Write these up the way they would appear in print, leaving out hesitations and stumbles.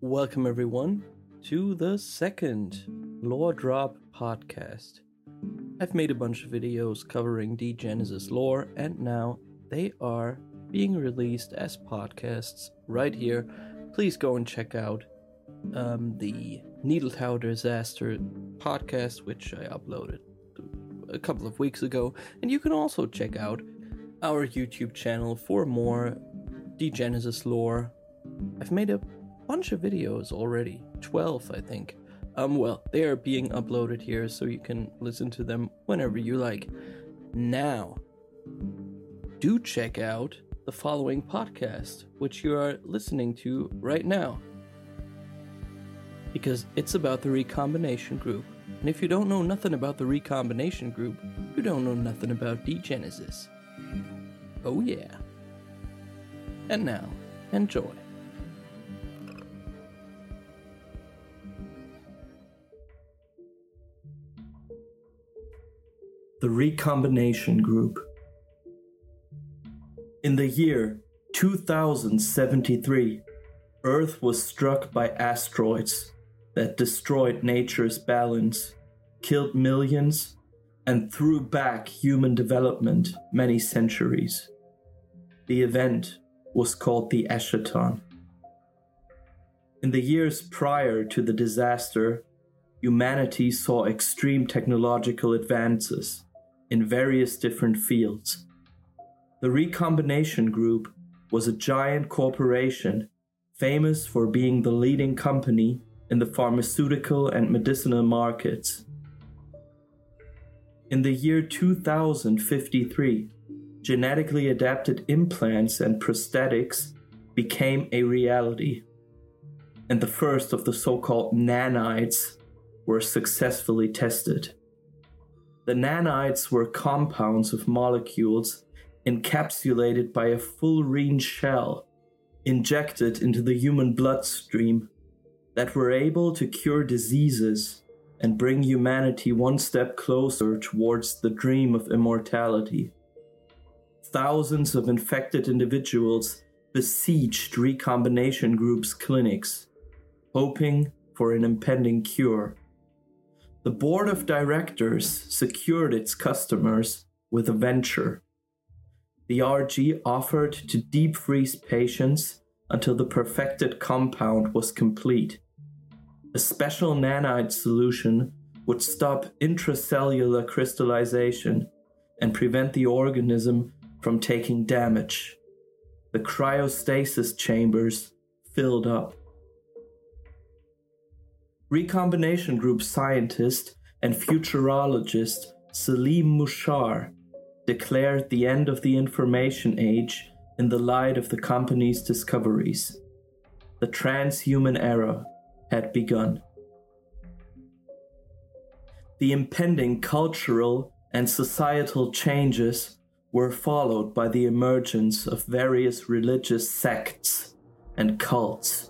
Welcome everyone to the second Lore Drop podcast. I've made a bunch of videos covering D-Genesis lore, and now they are being released as podcasts right here. Please go and check out the Needle Tower Disaster podcast, which I uploaded a couple of weeks ago, and you can also check out our YouTube channel for more D-Genesis lore. I've made a bunch of videos already, 12 I think. They are being uploaded here so you can listen to them whenever you like. Now, do check out the following podcast, which you are listening to right now, because it's about the Recombination Group. And if you don't know nothing about the Recombination Group, you don't know nothing about D-Genesis. Oh yeah. And now, enjoy. The Recombination Group. In the year 2073, Earth was struck by asteroids that destroyed nature's balance, killed millions, and threw back human development many centuries. The event was called the Eschaton. In the years prior to the disaster, humanity saw extreme technological advances in various different fields. The Recombination Group was a giant corporation famous for being the leading company in the pharmaceutical and medicinal markets. In the year 2053, genetically adapted implants and prosthetics became a reality, and the first of the so-called nanites were successfully tested. The nanites were compounds of molecules encapsulated by a fullerene shell injected into the human bloodstream that were able to cure diseases and bring humanity one step closer towards the dream of immortality. Thousands of infected individuals besieged Recombination Group's clinics, hoping for an impending cure. The board of directors secured its customers with a venture. The RG offered to deep freeze patients until the perfected compound was complete. A special nanite solution would stop intracellular crystallization and prevent the organism from taking damage. The cryostasis chambers filled up. Recombination Group scientist and futurologist Salim Mushar declared the end of the information age in the light of the company's discoveries. The transhuman era had begun. The impending cultural and societal changes were followed by the emergence of various religious sects and cults.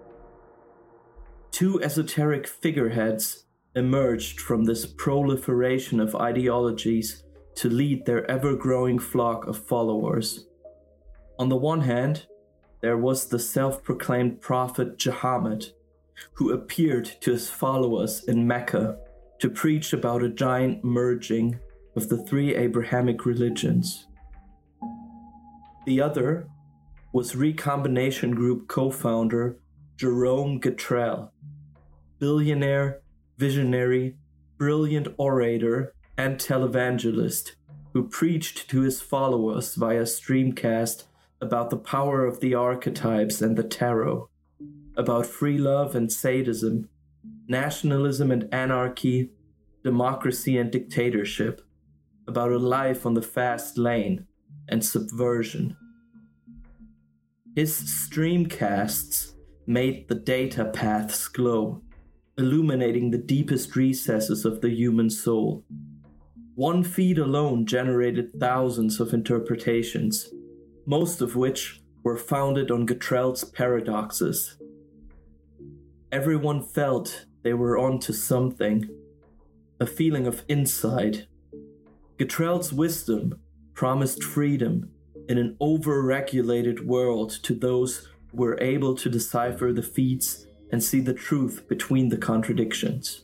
Two esoteric figureheads emerged from this proliferation of ideologies to lead their ever-growing flock of followers. On the one hand, there was the self-proclaimed prophet Muhammad, who appeared to his followers in Mecca to preach about a giant merging of the three Abrahamic religions. The other was Recombination Group co-founder Jerome Gatrell, billionaire, visionary, brilliant orator, and televangelist who preached to his followers via streamcast about the power of the archetypes and the tarot, about free love and sadism, nationalism and anarchy, democracy and dictatorship, about a life on the fast lane, and subversion. His streamcasts made the data paths glow, illuminating the deepest recesses of the human soul. One feed alone generated thousands of interpretations, most of which were founded on Gatrell's paradoxes. Everyone felt they were onto something, a feeling of insight. Gatrell's wisdom promised freedom in an over-regulated world to those who were able to decipher the feeds and see the truth between the contradictions.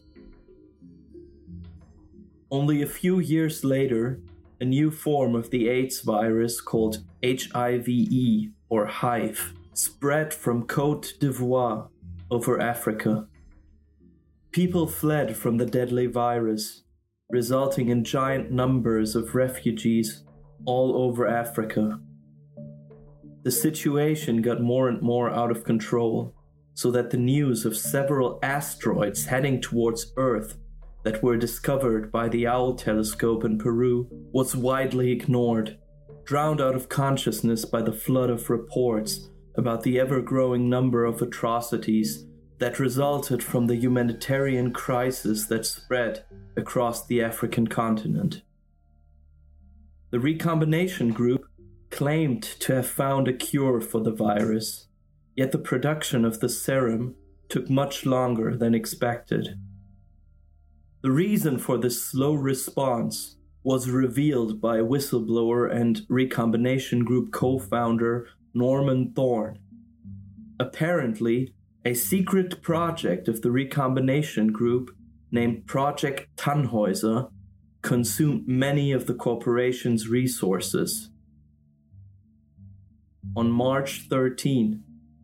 Only a few years later, a new form of the AIDS virus called HIV or HIV spread from Côte d'Ivoire over Africa. People fled from the deadly virus, resulting in giant numbers of refugees all over Africa. The situation got more and more out of control, so that the news of several asteroids heading towards Earth that were discovered by the Owl telescope in Peru was widely ignored, drowned out of consciousness by the flood of reports about the ever-growing number of atrocities that resulted from the humanitarian crisis that spread across the African continent. The Recombination Group claimed to have found a cure for the virus, yet the production of the serum took much longer than expected. The reason for this slow response was revealed by whistleblower and Recombination Group co-founder Norman Thorne. Apparently, a secret project of the Recombination Group named Project Tannhäuser consumed many of the corporation's resources. On March 13,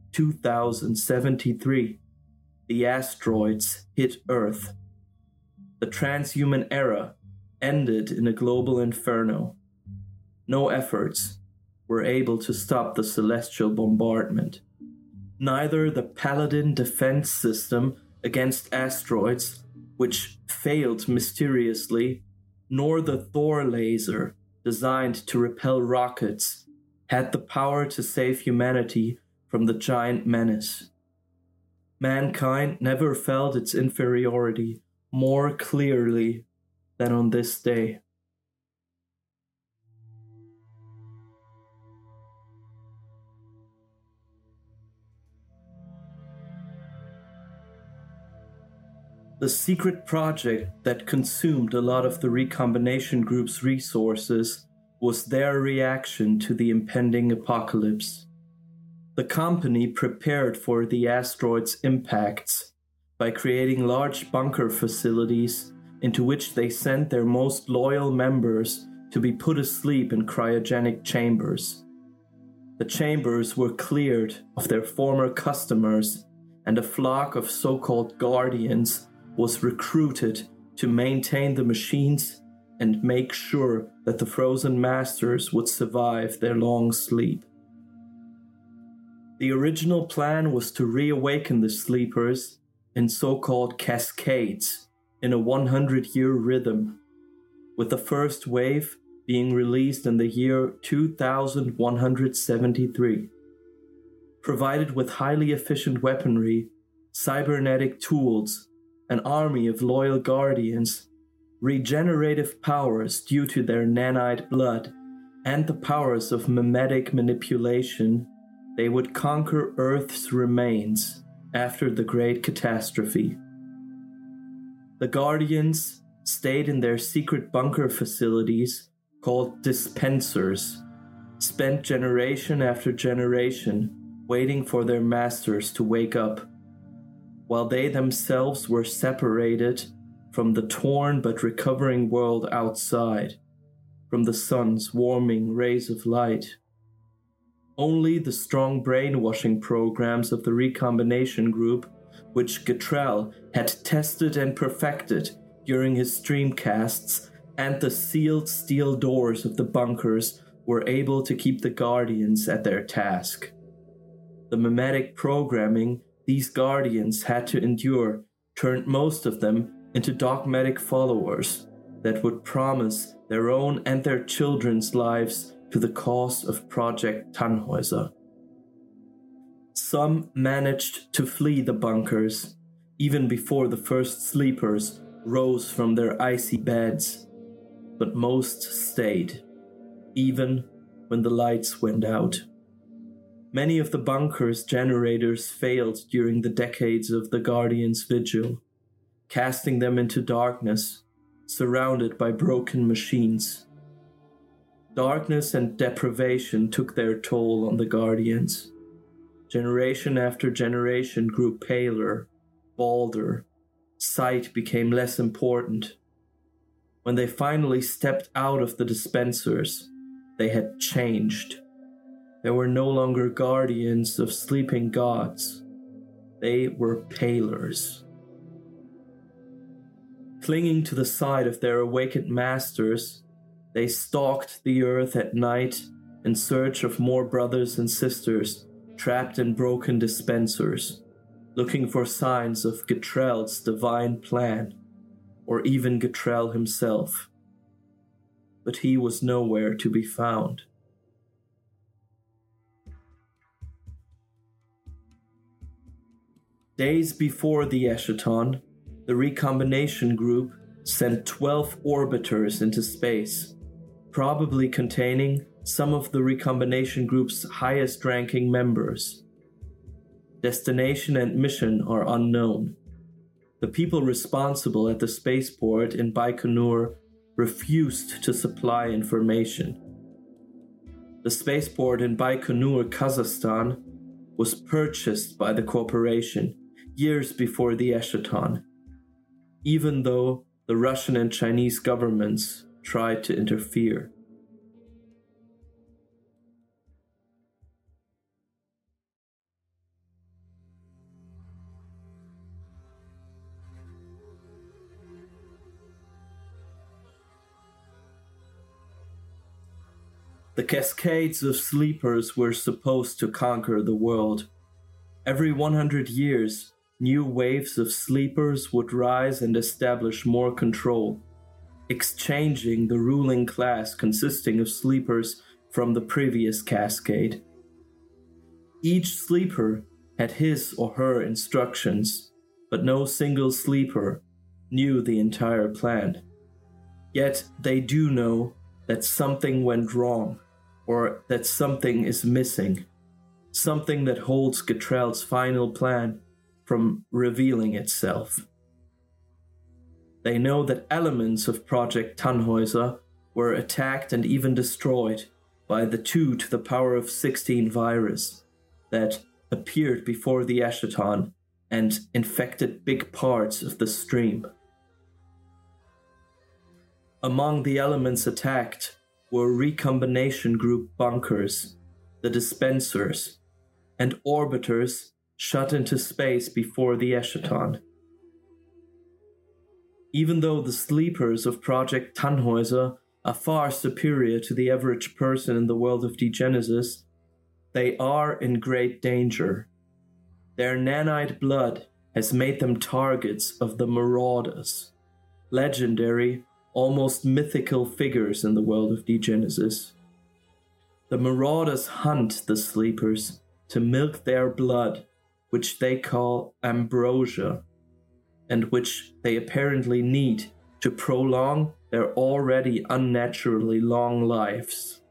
2073, the asteroids hit Earth. The transhuman era ended in a global inferno. No efforts were able to stop the celestial bombardment. Neither the Paladin defense system against asteroids, which failed mysteriously, nor the Thor laser, designed to repel rockets, had the power to save humanity from the giant menace. Mankind never felt its inferiority more clearly than on this day. The secret project that consumed a lot of the Recombination Group's resources was their reaction to the impending apocalypse. The company prepared for the asteroid's impacts by creating large bunker facilities into which they sent their most loyal members to be put asleep in cryogenic chambers. The chambers were cleared of their former customers, and a flock of so-called guardians was recruited to maintain the machines and make sure that the frozen masters would survive their long sleep. The original plan was to reawaken the sleepers in so-called cascades in a 100-year rhythm, with the first wave being released in the year 2173. Provided with highly efficient weaponry, cybernetic tools, an army of loyal guardians, regenerative powers due to their nanite blood, and the powers of mimetic manipulation, they would conquer Earth's remains after the Great Catastrophe. The Guardians stayed in their secret bunker facilities called dispensers, spent generation after generation waiting for their masters to wake up, while they themselves were separated from the torn but recovering world outside, from the sun's warming rays of light. Only the strong brainwashing programs of the Recombination Group, which Gatrell had tested and perfected during his streamcasts, and the sealed steel doors of the bunkers were able to keep the Guardians at their task. The mimetic programming these Guardians had to endure turned most of them into dogmatic followers that would promise their own and their children's lives to the cause of Project Tannhäuser. Some managed to flee the bunkers, even before the first sleepers rose from their icy beds, but most stayed, even when the lights went out. Many of the bunker's generators failed during the decades of the Guardians' vigil, casting them into darkness, surrounded by broken machines. Darkness and deprivation took their toll on the Guardians. Generation after generation grew paler, balder. Sight became less important. When they finally stepped out of the dispensers, they had changed. They were no longer guardians of sleeping gods. They were palers. Clinging to the side of their awakened masters, they stalked the earth at night in search of more brothers and sisters trapped in broken dispensers, looking for signs of Getrell's divine plan, or even Getrell himself. But he was nowhere to be found. Days before the Eschaton, the Recombination Group sent 12 orbiters into space, probably containing some of the Recombination Group's highest-ranking members. Destination and mission are unknown. The people responsible at the spaceport in Baikonur refused to supply information. The spaceport in Baikonur, Kazakhstan, was purchased by the corporation years before the Eschaton, even though the Russian and Chinese governments tried to interfere. The cascades of sleepers were supposed to conquer the world. Every 100 years, new waves of sleepers would rise and establish more control, exchanging the ruling class consisting of sleepers from the previous cascade. Each sleeper had his or her instructions, but no single sleeper knew the entire plan. Yet they do know that something went wrong, or that something is missing, something that holds Getrell's final plan from revealing itself. They know that elements of Project Tannhäuser were attacked and even destroyed by the 2 to the power of 16 virus that appeared before the Eschaton and infected big parts of the stream. Among the elements attacked were Recombination Group bunkers, the dispensers, and orbiters shut into space before the Eschaton. Even though the sleepers of Project Tannhäuser are far superior to the average person in the world of Degenesis, they are in great danger. Their nanite blood has made them targets of the Marauders, legendary, almost mythical figures in the world of Degenesis. The Marauders hunt the sleepers to milk their blood, which they call ambrosia, and which they apparently need to prolong their already unnaturally long lives.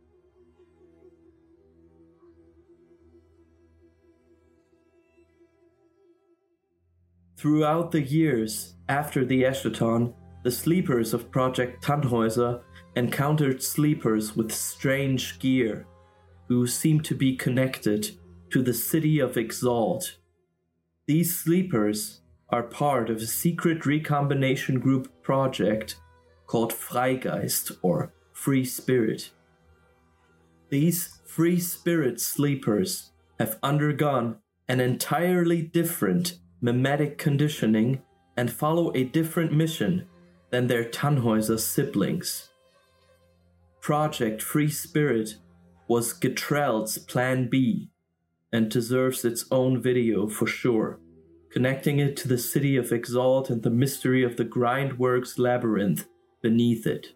Throughout the years after the Eschaton, the sleepers of Project Tannhäuser encountered sleepers with strange gear, who seemed to be connected to the city of Exalt. These sleepers are part of a secret Recombination Group project called Freigeist, or Free Spirit. These Free Spirit sleepers have undergone an entirely different mimetic conditioning and follow a different mission than their Tannhäuser siblings. Project Free Spirit was Getrell's Plan B and deserves its own video for sure, connecting it to the city of Exalt and the mystery of the Grindworks labyrinth beneath it.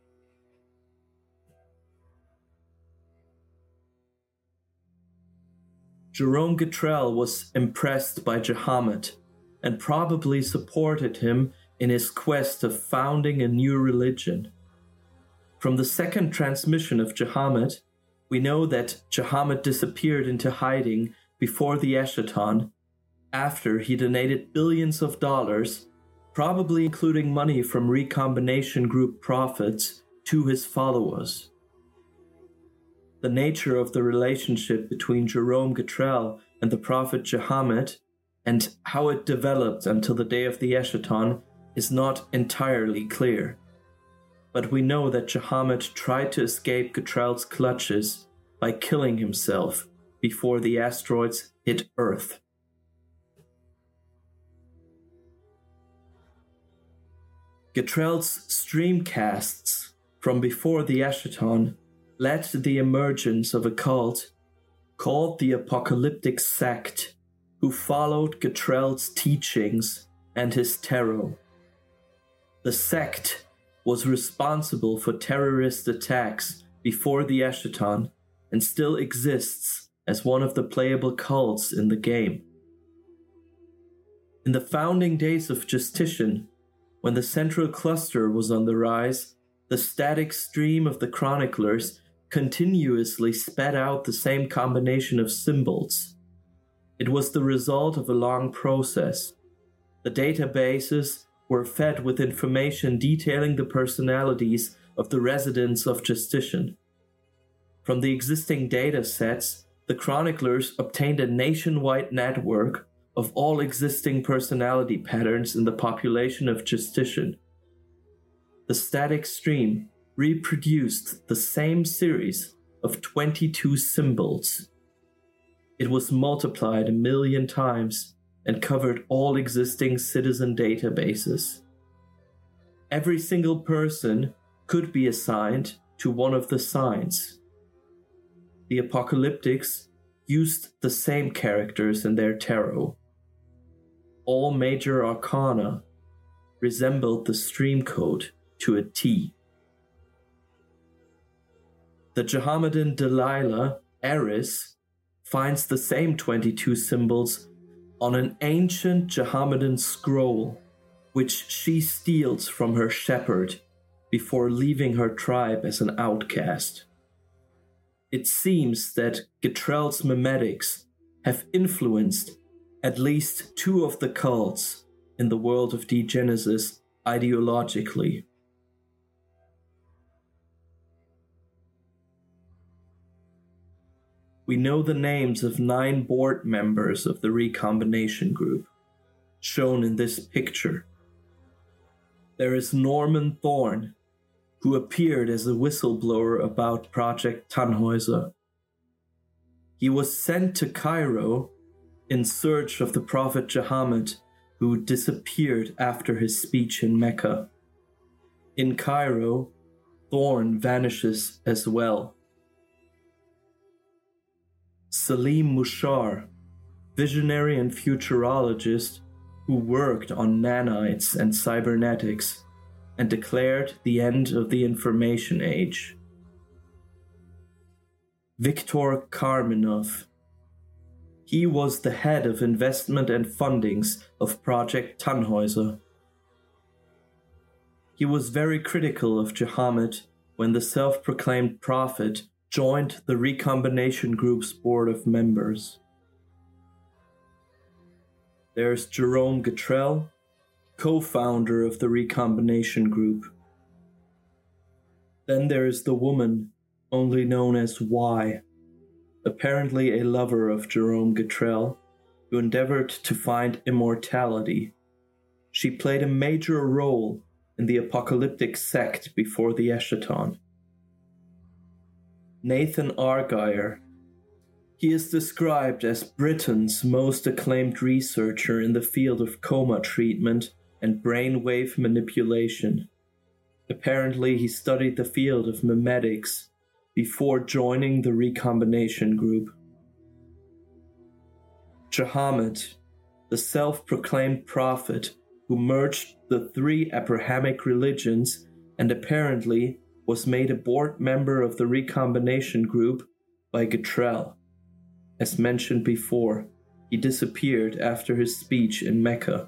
Jerome Getrell was impressed by Jahamet and probably supported him in his quest of founding a new religion. From the second transmission of Jahamet, we know that Jahamet disappeared into hiding before the Eschaton, after he donated billions of dollars, probably including money from Recombination Group profits, to his followers. The nature of the relationship between Jerome Getrell and the prophet Muhammad, and how it developed until the day of the Eschaton is not entirely clear. But we know that Muhammad tried to escape Getrell's clutches by killing himself before the asteroids hit Earth. Getrell's streamcasts from before the Eschaton led to the emergence of a cult called the Apocalyptic Sect, who followed Getrell's teachings and his tarot. The sect was responsible for terrorist attacks before the Eschaton and still exists as one of the playable cults in the game. In the founding days of Justitian, when the central cluster was on the rise, the static stream of the chroniclers continuously spat out the same combination of symbols. It was the result of a long process. The databases were fed with information detailing the personalities of the residents of Justitian. From the existing data sets, the chroniclers obtained a nationwide network of all existing personality patterns in the population of Justitian. The static stream reproduced the same series of 22 symbols. It was multiplied 1 million times and covered all existing citizen databases. Every single person could be assigned to one of the signs. The Apocalyptics used the same characters in their tarot. All major arcana resembled the stream code to a T. The Mohammedan Delilah, Eris, finds the same 22 symbols on an ancient Mohammedan scroll, which she steals from her shepherd before leaving her tribe as an outcast. It seems that Getrell's memetics have influenced at least 2 of the cults in the world of Degenesis ideologically. We know the names of 9 board members of the Recombination Group, shown in this picture. There is Norman Thorne, who appeared as a whistleblower about Project Tannhäuser. He was sent to Cairo in search of the Prophet Muhammad, who disappeared after his speech in Mecca. In Cairo, Thorne vanishes as well. Salim Mushar, visionary and futurologist who worked on nanites and cybernetics and declared the end of the information age. Viktor Karminov. He was the head of investment and fundings of Project Tannhäuser. He was very critical of Muhammad when the self-proclaimed prophet joined the Recombination Group's board of members. There's Jerome Getrell, co-founder of the Recombination Group. Then there is the woman, only known as Y, apparently a lover of Jerome Getrell, who endeavored to find immortality. She played a major role in the apocalyptic sect before the Eschaton. Nathan Argyle. He is described as Britain's most acclaimed researcher in the field of coma treatment and brainwave manipulation. Apparently, he studied the field of memetics before joining the Recombination Group. Muhammad, the self-proclaimed prophet who merged the 3 Abrahamic religions and apparently was made a board member of the Recombination Group by Getrell. As mentioned before, he disappeared after his speech in Mecca.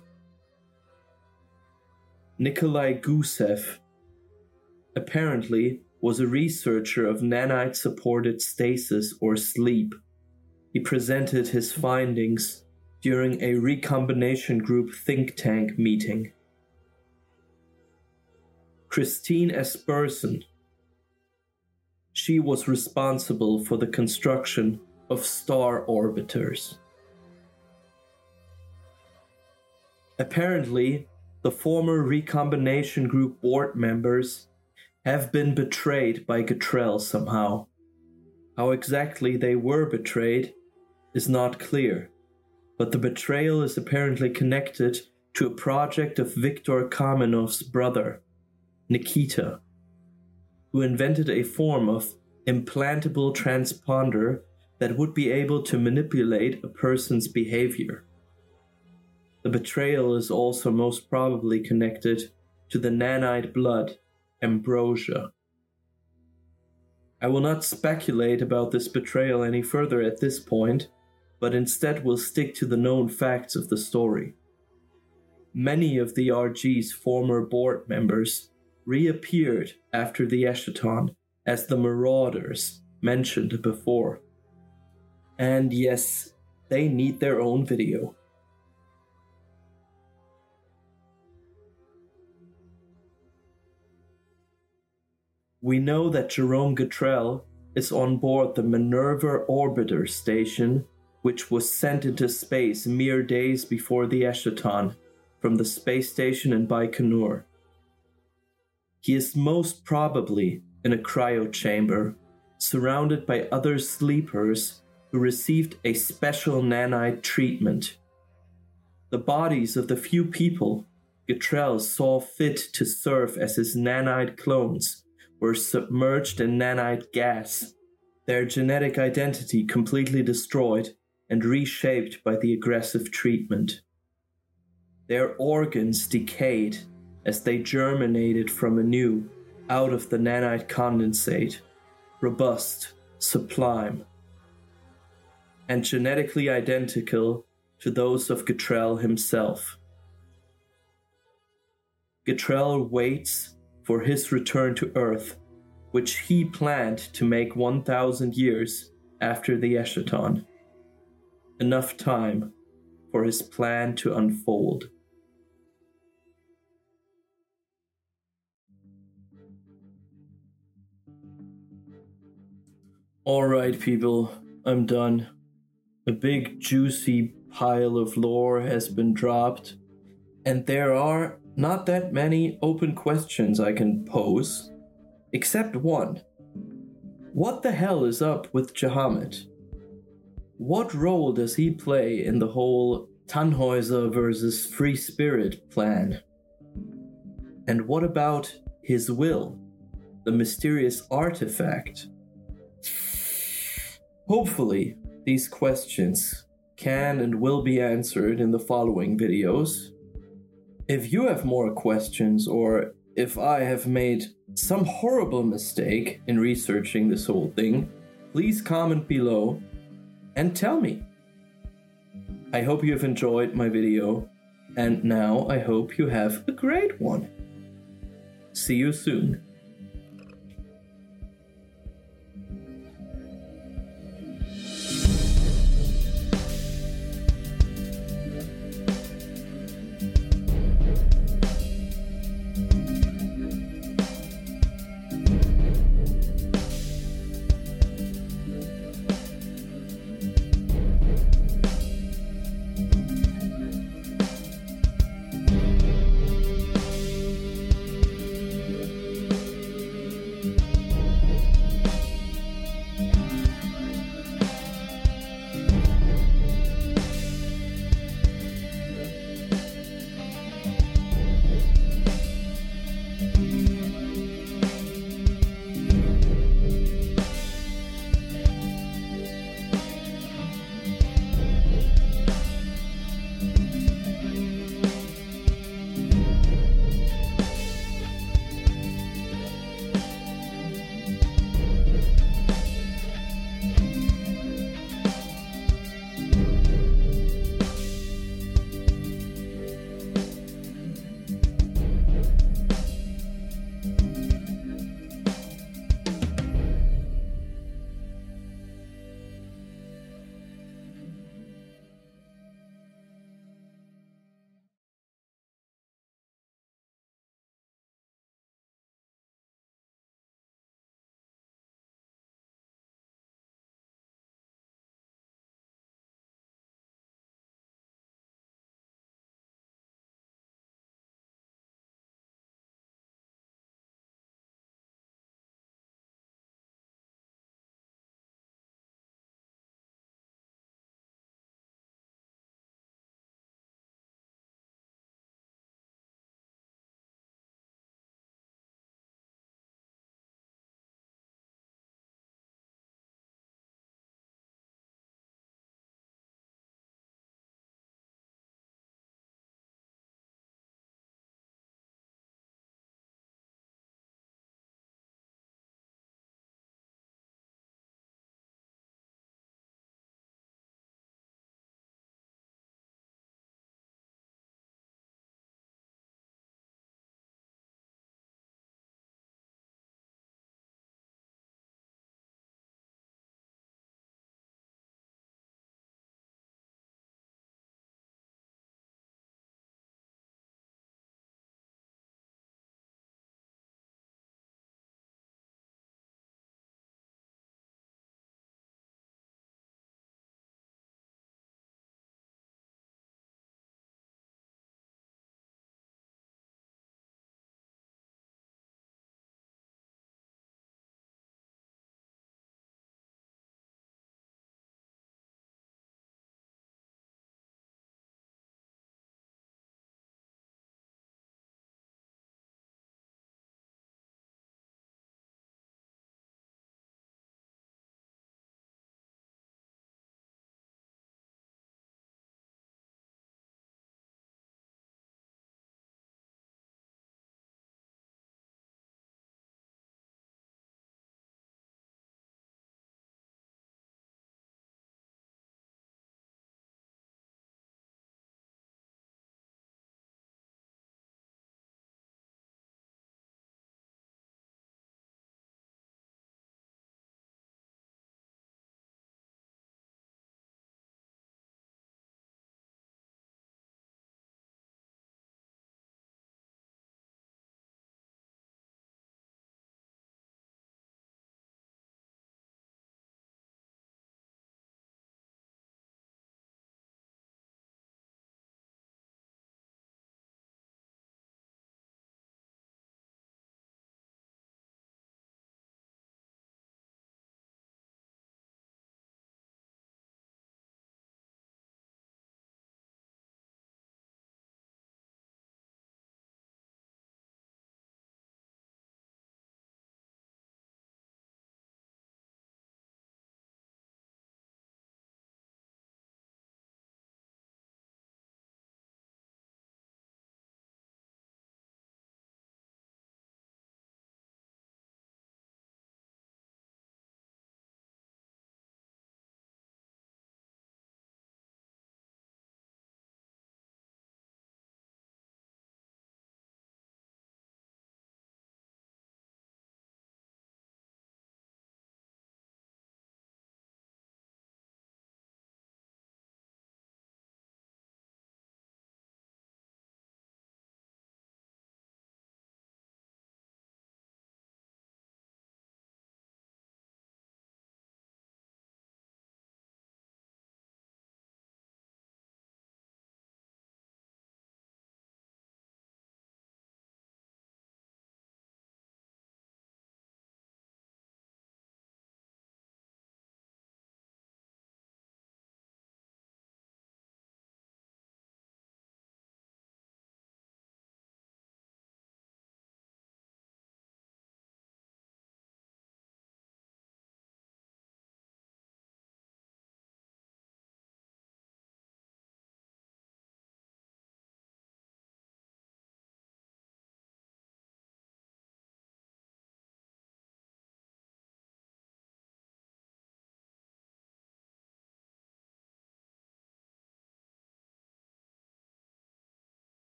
Nikolai Gusev apparently was a researcher of nanite-supported stasis or sleep. He presented his findings during a Recombination Group think tank meeting. Christine Esperson. She was responsible for the construction of star orbiters. Apparently, the former Recombination Group board members have been betrayed by Getrell somehow. How exactly they were betrayed is not clear, but the betrayal is apparently connected to a project of Viktor Kamenov's brother, Nikita, who invented a form of implantable transponder that would be able to manipulate a person's behavior. The betrayal is also most probably connected to the nanite blood, Ambrosia. I will not speculate about this betrayal any further at this point, but instead will stick to the known facts of the story. Many of the RG's former board members reappeared after the Eschaton as the Marauders mentioned before. And yes, they need their own video. We know that Jerome Getrell is on board the Minerva Orbiter station, which was sent into space mere days before the Eschaton from the space station in Baikonur. He is most probably in a cryo chamber, surrounded by other sleepers who received a special nanite treatment. The bodies of the few people Getrell saw fit to serve as his nanite clones were submerged in nanite gas, their genetic identity completely destroyed and reshaped by the aggressive treatment. Their organs decayed as they germinated from anew out of the nanite condensate, robust, sublime, and genetically identical to those of Getrell himself. Getrell waits for his return to Earth, which he planned to make 1,000 years after the Eschaton. Enough time for his plan to unfold. Alright people, I'm done. A big juicy pile of lore has been dropped, and there are not that many open questions I can pose, except one. What the hell is up with Jahamet? What role does he play in the whole Tannhäuser versus Free Spirit plan? And what about his will, the mysterious artifact? Hopefully, these questions can and will be answered in the following videos. If you have more questions, or if I have made some horrible mistake in researching this whole thing, please comment below and tell me. I hope you have enjoyed my video, and now I hope you have a great one. See you soon.